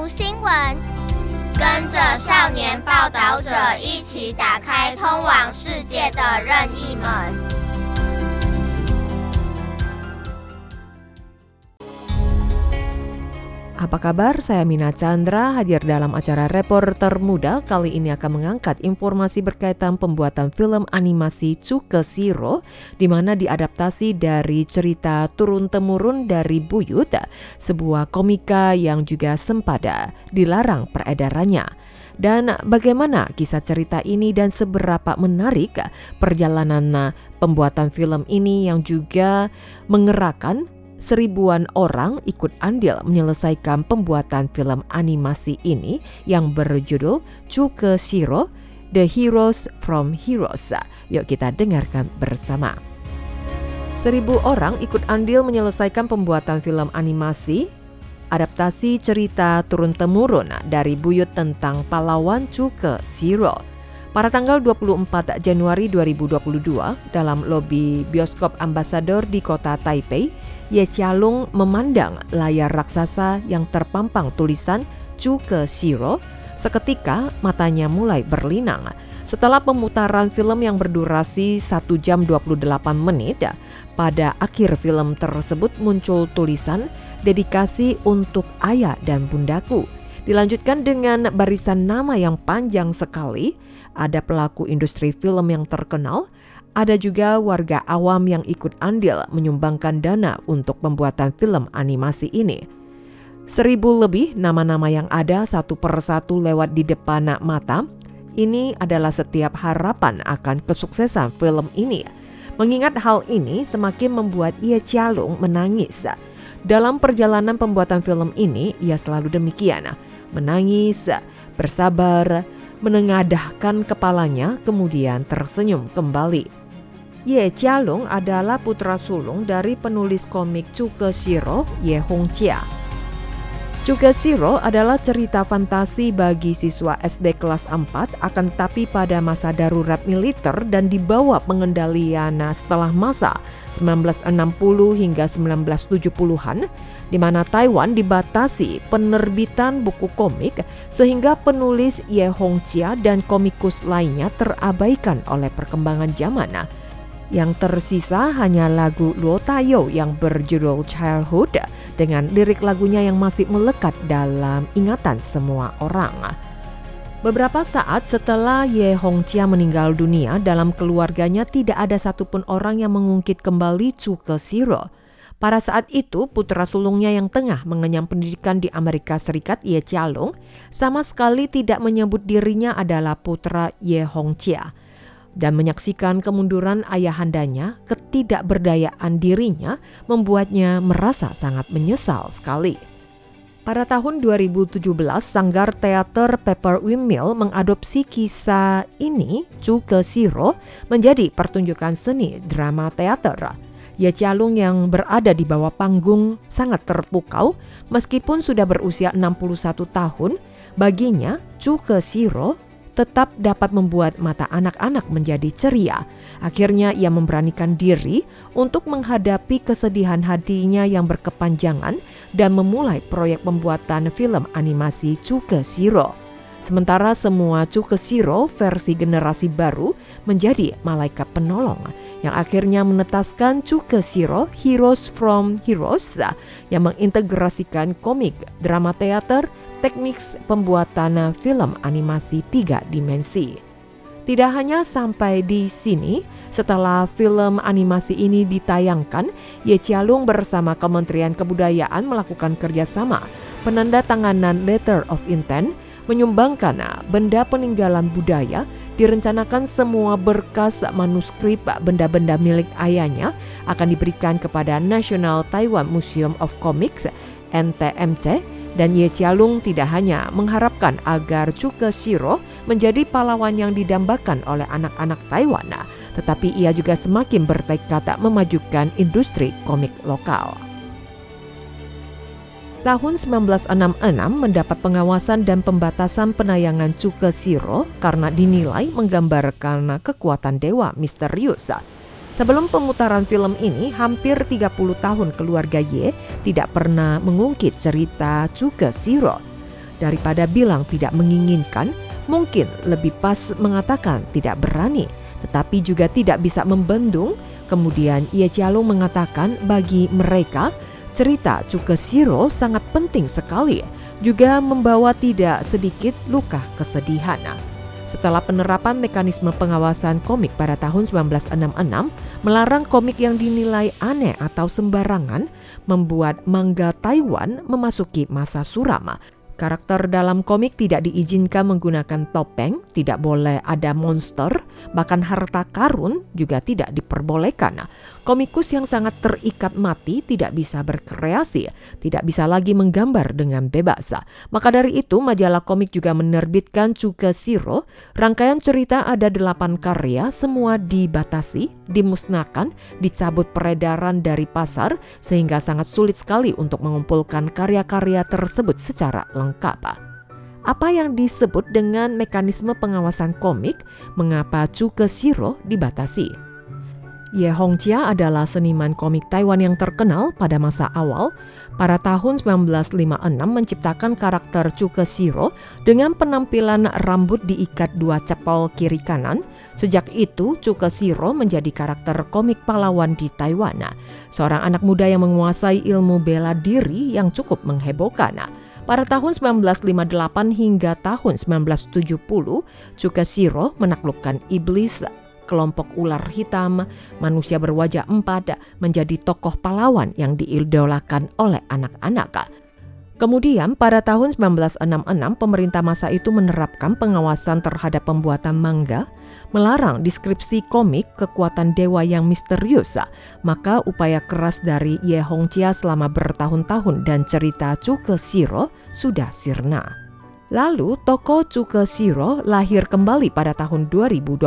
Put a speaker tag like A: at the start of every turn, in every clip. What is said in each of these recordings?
A: 讀新聞，跟着少年報導者一起打開通往世界的任意門。
B: Apa kabar? Saya Mina Chandra hadir dalam acara Reporter Muda. Kali ini akan mengangkat informasi berkaitan pembuatan film animasi Cuke Shiro, di mana diadaptasi dari cerita turun-temurun dari Buyut, sebuah komika yang juga sempat dilarang peredarannya. Dan bagaimana kisah cerita ini dan seberapa menarik perjalanan pembuatan film ini yang juga mengerahkan seribuan orang ikut andil menyelesaikan pembuatan film animasi ini yang berjudul Cuke Shiro, The Heroes from Heroes. Yuk kita dengarkan bersama. 1000 orang ikut andil menyelesaikan pembuatan film animasi adaptasi cerita turun-temurun dari Buyut tentang pahlawan Cuke Shiro. Pada tanggal 24 Januari 2022, dalam lobi bioskop Ambassador di kota Taipei, Ye Qialong memandang layar raksasa yang terpampang tulisan Cuke Shiro. Seketika matanya mulai berlinang. Setelah pemutaran film yang berdurasi 1 jam 28 menit, pada akhir film tersebut muncul tulisan dedikasi untuk ayah dan bundaku. Dilanjutkan dengan barisan nama yang panjang sekali. Ada pelaku industri film yang terkenal, ada juga warga awam yang ikut andil menyumbangkan dana untuk pembuatan film animasi ini. 1000 lebih nama-nama yang ada satu persatu lewat di depan mata. Ini adalah setiap harapan akan kesuksesan film ini. Mengingat hal ini semakin membuat Ye Qialong menangis. Dalam perjalanan pembuatan film ini, ia selalu demikian, menangis, bersabar, menengadahkan kepalanya, kemudian tersenyum kembali. Ye Qialong adalah putra sulung dari penulis komik Cuke Shiro, Ye Hongjia. Cuke Shiro adalah cerita fantasi bagi siswa SD kelas 4, akan tetapi pada masa darurat militer dan di bawah pengendalian setelah masa 1960 hingga 1970-an, di mana Taiwan dibatasi penerbitan buku komik sehingga penulis Ye Hongjia dan komikus lainnya terabaikan oleh perkembangan zaman. Yang tersisa hanya lagu Luo Taiyou yang berjudul Childhood dengan lirik lagunya yang masih melekat dalam ingatan semua orang. Beberapa saat setelah Ye Hongjia meninggal dunia, dalam keluarganya tidak ada satupun orang yang mengungkit kembali Cuke Shiro. Pada saat itu, putra sulungnya yang tengah mengenyam pendidikan di Amerika Serikat, Ye Qialong, sama sekali tidak menyebut dirinya adalah putra Ye Hongjia. Dan menyaksikan kemunduran ayahandanya, ketidakberdayaan dirinya membuatnya merasa sangat menyesal sekali. Pada tahun 2017, Sanggar Teater Pepper Windmill mengadopsi kisah ini, Cuke Shiro, menjadi pertunjukan seni drama teater. Ye Qialong yang berada di bawah panggung sangat terpukau meskipun sudah berusia 61 tahun. Baginya, Cuke Shiro tetap dapat membuat mata anak-anak menjadi ceria. Akhirnya ia memberanikan diri untuk menghadapi kesedihan hatinya yang berkepanjangan dan memulai proyek pembuatan film animasi Cuke Shiro. Sementara semua Cuke Shiro versi generasi baru menjadi malaikat penolong yang akhirnya menetaskan Cuke Shiro, Heroes from Heroes, yang mengintegrasikan komik, drama teater, teknik pembuatan film animasi 3 dimensi. Tidak hanya sampai di sini, setelah film animasi ini ditayangkan, Ye Qialong bersama Kementerian Kebudayaan melakukan kerjasama penandatanganan Letter of Intent, menyumbangkan benda peninggalan budaya. Direncanakan semua berkas manuskrip benda-benda milik ayahnya akan diberikan kepada National Taiwan Museum of Comics, NTMC. Dan Ye Qialong tidak hanya mengharapkan agar Cuke Shiro menjadi pahlawan yang didambakan oleh anak-anak Taiwan, tetapi ia juga semakin bertekad memajukan industri komik lokal. Tahun 1966 mendapat pengawasan dan pembatasan penayangan Cuke Shiro karena dinilai menggambarkan kekuatan dewa misterius. Sebelum pemutaran film ini, hampir 30 tahun keluarga Ye tidak pernah mengungkit cerita Cuke Shiro. Daripada bilang tidak menginginkan, mungkin lebih pas mengatakan tidak berani, tetapi juga tidak bisa membendung. Kemudian Ye Jialong mengatakan bagi mereka, cerita Chukeshiro sangat penting sekali, juga membawa tidak sedikit luka kesedihan. Setelah penerapan mekanisme pengawasan komik pada tahun 1966, melarang komik yang dinilai aneh atau sembarangan, membuat manga Taiwan memasuki masa suram. Karakter dalam komik tidak diizinkan menggunakan topeng, tidak boleh ada monster, bahkan harta karun juga tidak diperbolehkan. Komikus yang sangat terikat mati tidak bisa berkreasi, tidak bisa lagi menggambar dengan bebas. Maka dari itu majalah komik juga menerbitkan Chukeshiro. Rangkaian cerita ada 8 karya, semua dibatasi, dimusnahkan, dicabut peredaran dari pasar, sehingga sangat sulit sekali untuk mengumpulkan karya-karya tersebut secara lengkap. Apa yang disebut dengan mekanisme pengawasan komik? Mengapa Chukeshiro dibatasi? Ye Hongjia adalah seniman komik Taiwan yang terkenal pada masa awal. Pada tahun 1956 menciptakan karakter Chukeshiro dengan penampilan rambut diikat 2 cepol kiri kanan. Sejak itu Chukeshiro menjadi karakter komik pahlawan di Taiwan. Seorang anak muda yang menguasai ilmu bela diri yang cukup menghebohkan. Pada tahun 1958 hingga tahun 1970, Chukeshiro menaklukkan iblis, kelompok ular hitam, manusia berwajah 4, menjadi tokoh pahlawan yang diidolakan oleh anak-anak. Kemudian pada tahun 1966 pemerintah masa itu menerapkan pengawasan terhadap pembuatan manga, melarang deskripsi komik kekuatan dewa yang misterius. Maka upaya keras dari Ye Hongjia selama bertahun-tahun dan cerita Chukeshiro sudah sirna. Lalu tokoh Chukeshiro lahir kembali pada tahun 2022.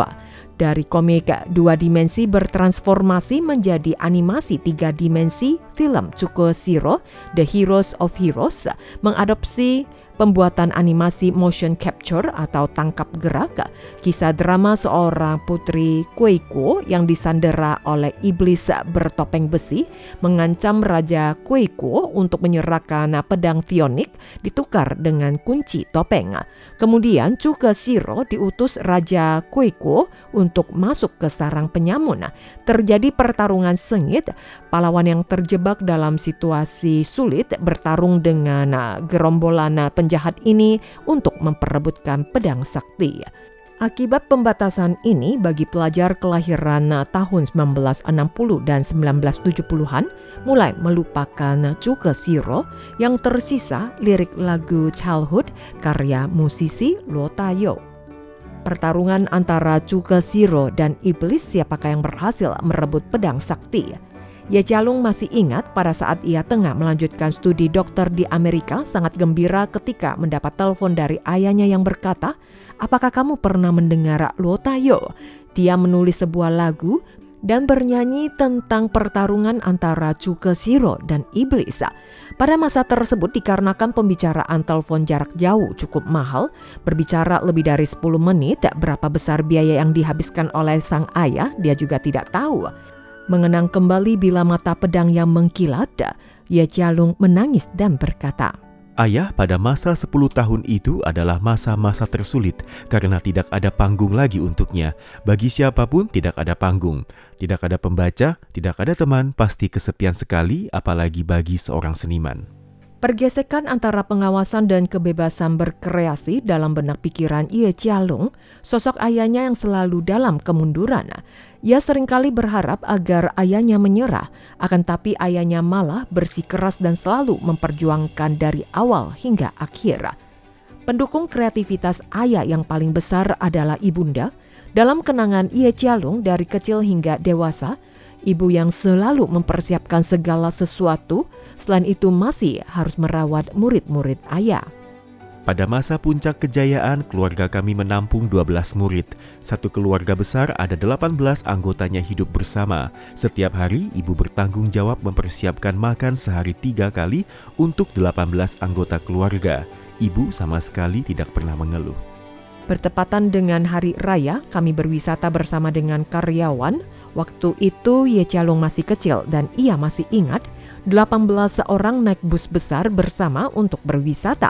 B: Dari komik 2 dimensi bertransformasi menjadi animasi 3 dimensi, film Chukeshiro The Heroes of Heroes mengadopsi pembuatan animasi motion capture atau tangkap gerak, kisah drama seorang putri Kuei-kuo yang disandera oleh iblis bertopeng besi, mengancam Raja Kuei-kuo untuk menyerahkan pedang Phoenix ditukar dengan kunci topeng. Kemudian Chukeshiro diutus Raja Kuei-kuo untuk masuk ke sarang penyamun. Terjadi pertarungan sengit, pahlawan yang terjebak dalam situasi sulit bertarung dengan gerombolan penjahat ini untuk memperebutkan pedang sakti. Akibat pembatasan ini bagi pelajar kelahiran tahun 1960 dan 1970-an mulai melupakan Chukeshiro, yang tersisa lirik lagu Childhood karya musisi Luo Tayo. Pertarungan antara Chukeshiro dan iblis, siapakah yang berhasil merebut pedang sakti? Ye Jialong masih ingat pada saat ia tengah melanjutkan studi dokter di Amerika, sangat gembira ketika mendapat telepon dari ayahnya yang berkata, "Apakah kamu pernah mendengar Luo Tayo? Dia menulis sebuah lagu dan bernyanyi tentang pertarungan antara Chukeshiro dan iblis." Pada masa tersebut dikarenakan pembicaraan telepon jarak jauh cukup mahal, berbicara lebih dari 10 menit, berapa besar biaya yang dihabiskan oleh sang ayah dia juga tidak tahu. Mengenang kembali bila mata pedang yang mengkilat, Ye Jialong menangis dan berkata,
C: "Ayah, pada masa 10 tahun itu adalah masa-masa tersulit karena tidak ada panggung lagi untuknya. Bagi siapapun tidak ada panggung, tidak ada pembaca, tidak ada teman, pasti kesepian sekali, apalagi bagi seorang seniman."
B: Pergesekan antara pengawasan dan kebebasan berkreasi dalam benak pikiran Ye Jialong, sosok ayahnya yang selalu dalam kemunduran. Ia seringkali berharap agar ayahnya menyerah, akan tapi ayahnya malah bersikeras dan selalu memperjuangkan dari awal hingga akhir. Pendukung kreativitas ayah yang paling besar adalah ibunda. Dalam kenangan Ye Jialong dari kecil hingga dewasa, ibu yang selalu mempersiapkan segala sesuatu, selain itu masih harus merawat murid-murid ayah.
C: Pada masa puncak kejayaan, keluarga kami menampung 12 murid. Satu keluarga besar ada 18 anggotanya hidup bersama. Setiap hari, ibu bertanggung jawab mempersiapkan makan sehari 3 kali untuk 18 anggota keluarga. Ibu sama sekali tidak pernah mengeluh.
B: Bertepatan dengan hari raya, kami berwisata bersama dengan karyawan. Waktu itu Ye Jialong masih kecil dan ia masih ingat 18 orang naik bus besar bersama untuk berwisata.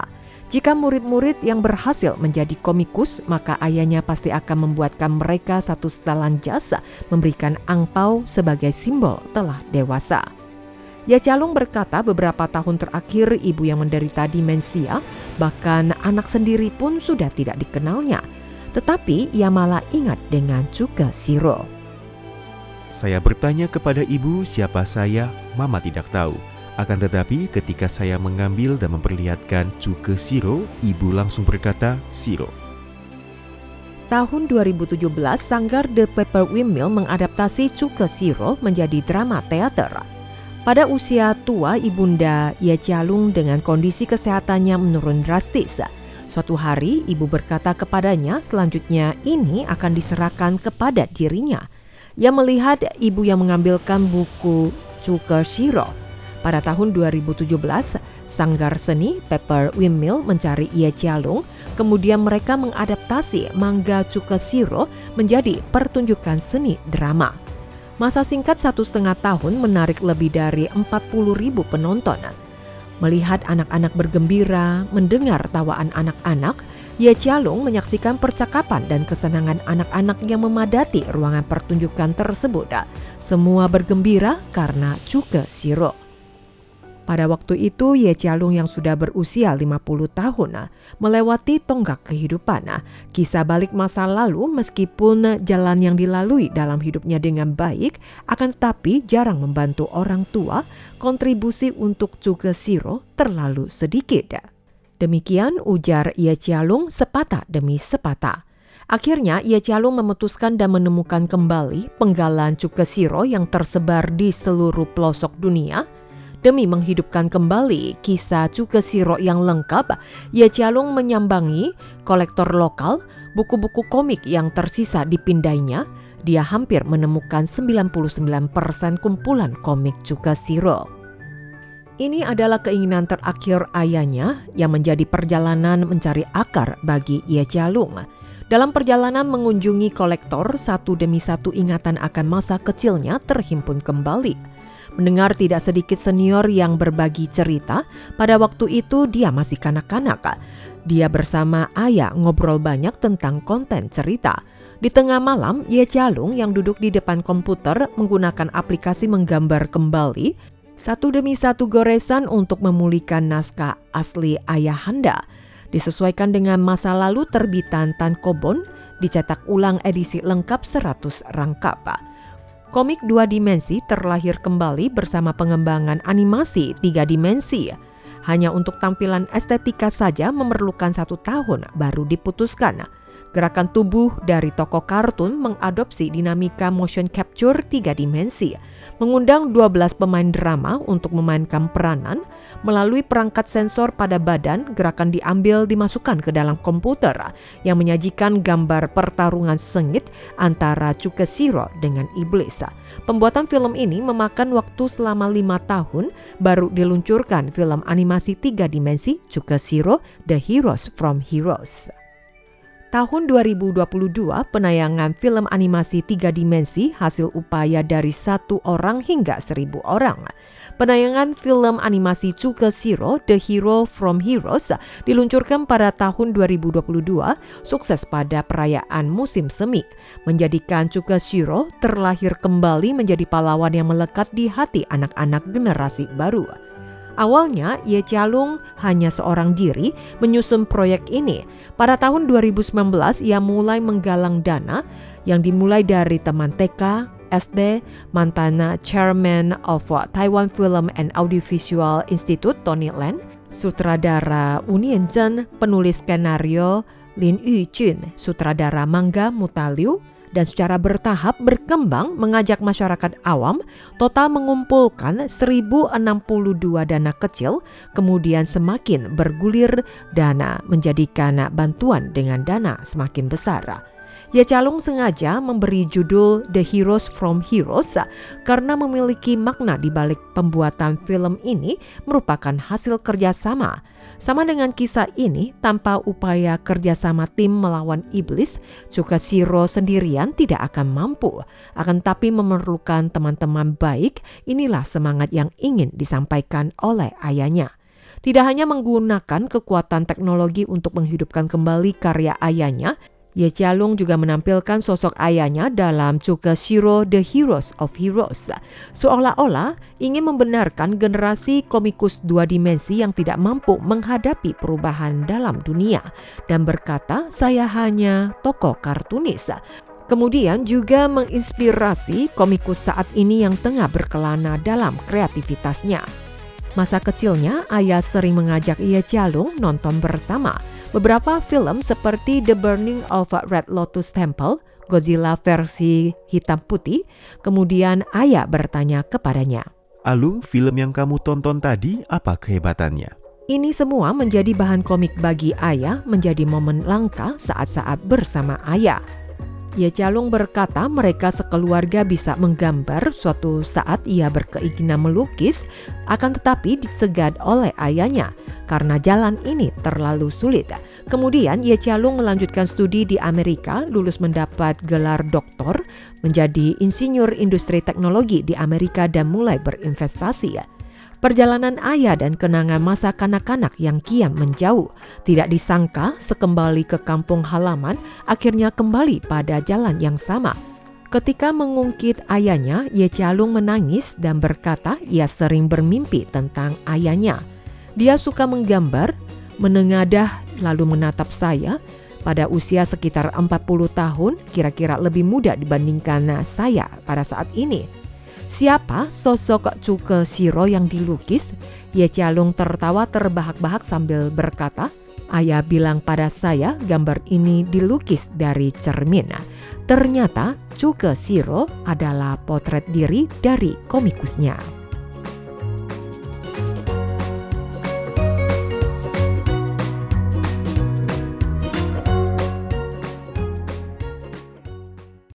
B: Jika murid-murid yang berhasil menjadi komikus, maka ayahnya pasti akan membuatkan mereka satu setelan jasa memberikan angpau sebagai simbol telah dewasa. Ye Calung berkata beberapa tahun terakhir ibu yang menderita demensia, bahkan anak sendiri pun sudah tidak dikenalnya. Tetapi ia malah ingat dengan Chuke Siro.
C: Saya bertanya kepada ibu siapa saya, mama tidak tahu. Akan tetapi ketika saya mengambil dan memperlihatkan Chuke Siro, ibu langsung berkata, Siro.
B: Tahun 2017, Sanggar The Paper Windmill mengadaptasi Chuke Siro menjadi drama teater. Pada usia tua, ibunda Ye Calung dengan kondisi kesehatannya menurun drastis. Suatu hari, ibu berkata kepadanya selanjutnya ini akan diserahkan kepada dirinya. Ia melihat ibu yang mengambilkan buku Chuke Siro. Pada tahun 2017, Sanggar Seni Paper Windmill mencari Ye Calung, kemudian mereka mengadaptasi manga Chuke Siro menjadi pertunjukan seni drama. Masa singkat 1,5 tahun menarik lebih dari 40.000 penonton. Melihat anak-anak bergembira, mendengar tawaan anak-anak, Ye Calung menyaksikan percakapan dan kesenangan anak-anak yang memadati ruangan pertunjukan tersebut. Semua bergembira karena Chuke Siro. Pada waktu itu, Ye Calung yang sudah berusia 50 tahun melewati tonggak kehidupan. Kisah balik masa lalu meskipun jalan yang dilalui dalam hidupnya dengan baik, akan tetapi jarang membantu orang tua, kontribusi untuk Chuke Siro terlalu sedikit. Demikian ujar Ye Calung sepatah demi sepatah. Akhirnya Ye Calung memutuskan dan menemukan kembali penggalan Chuke Siro yang tersebar di seluruh pelosok dunia. Demi menghidupkan kembali kisah Chuke Siro yang lengkap, Ye Calung menyambangi kolektor lokal, buku-buku komik yang tersisa dipindainya. Dia hampir menemukan 99% kumpulan komik Chuke Siro. Ini adalah keinginan terakhir ayahnya yang menjadi perjalanan mencari akar bagi Ye Calung. Dalam perjalanan mengunjungi kolektor, satu demi satu ingatan akan masa kecilnya terhimpun kembali. Mendengar tidak sedikit senior yang berbagi cerita, pada waktu itu dia masih kanak-kanak. Dia bersama ayah ngobrol banyak tentang konten cerita. Di tengah malam, Ye Calung yang duduk di depan komputer menggunakan aplikasi menggambar kembali satu demi satu goresan untuk memulihkan naskah asli ayahanda. Disesuaikan dengan masa lalu terbitan Tankobon, dicetak ulang edisi lengkap 100 rangkap. Komik 2 dimensi terlahir kembali bersama pengembangan animasi 3 dimensi. Hanya untuk tampilan estetika saja memerlukan 1 tahun baru diputuskan. Gerakan tubuh dari tokoh kartun mengadopsi dinamika motion capture 3 dimensi, mengundang 12 pemain drama untuk memainkan peranan. Melalui perangkat sensor pada badan, gerakan diambil dimasukkan ke dalam komputer yang menyajikan gambar pertarungan sengit antara Chuke Siro dengan iblis. Pembuatan film ini memakan waktu selama 5 tahun baru diluncurkan film animasi 3 dimensi Chuke Siro The Heroes from Heroes. Tahun 2022, penayangan film animasi 3 dimensi hasil upaya dari 1 orang hingga 1.000 orang. Penayangan film animasi Chuke Siro The Hero from Heroes diluncurkan pada tahun 2022, sukses pada perayaan musim semi, menjadikan Chuke Siro terlahir kembali menjadi pahlawan yang melekat di hati anak-anak generasi baru. Awalnya, Ye Calung hanya seorang diri menyusun proyek ini. Pada tahun 2019, ia mulai menggalang dana yang dimulai dari teman TK, SD, mantan chairman of Taiwan Film and Audiovisual Institute Tony Len, sutradara Wu Nianzhen, penulis skenario Lin Yujun, sutradara manga Muta Liu, dan secara bertahap berkembang mengajak masyarakat awam, total mengumpulkan 1.062 dana kecil, kemudian semakin bergulir dana menjadikan bantuan dengan dana semakin besar. Ye Calung sengaja memberi judul The Heroes from Heroes karena memiliki makna di balik pembuatan film ini merupakan hasil kerjasama. Sama dengan kisah ini, tanpa upaya kerjasama tim melawan iblis, Chuke Siro sendirian tidak akan mampu. Akan tapi memerlukan teman-teman baik, inilah semangat yang ingin disampaikan oleh ayahnya. Tidak hanya menggunakan kekuatan teknologi untuk menghidupkan kembali karya ayahnya, Ye Chia-lung juga menampilkan sosok ayahnya dalam Chukeshiro The Heroes of Heroes, seolah-olah ingin membenarkan generasi komikus dua dimensi yang tidak mampu menghadapi perubahan dalam dunia dan berkata, "Saya hanya tokoh kartunis." Kemudian juga menginspirasi komikus saat ini yang tengah berkelana dalam kreativitasnya. Masa kecilnya, ayah sering mengajak Ye Chia-lung nonton bersama beberapa film seperti The Burning of Red Lotus Temple, Godzilla versi hitam putih. Kemudian ayah bertanya kepadanya,
C: "Alung, film yang kamu tonton tadi apa kehebatannya?"
B: Ini semua menjadi bahan komik bagi ayah, menjadi momen langka saat-saat bersama ayah. Ye Chia-lung berkata mereka sekeluarga bisa menggambar. Suatu saat ia berkeinginan melukis, akan tetapi dicegat oleh ayahnya karena jalan ini terlalu sulit. Kemudian Ye Chia-lung melanjutkan studi di Amerika, lulus mendapat gelar doktor, menjadi insinyur industri teknologi di Amerika dan mulai berinvestasi. Perjalanan ayah dan kenangan masa kanak-kanak yang kian menjauh. Tidak disangka sekembali ke kampung halaman akhirnya kembali pada jalan yang sama. Ketika mengungkit ayahnya, Ye Chia-lung menangis dan berkata ia sering bermimpi tentang ayahnya. Dia suka menggambar, menengadah lalu menatap saya. Pada usia sekitar 40 tahun, kira-kira lebih muda dibandingkan saya pada saat ini. Siapa sosok Chukeshiro yang dilukis? Ye Chia-lung tertawa terbahak-bahak sambil berkata, "Ayah bilang pada saya gambar ini dilukis dari cermin." Ternyata Chukeshiro adalah potret diri dari komikusnya.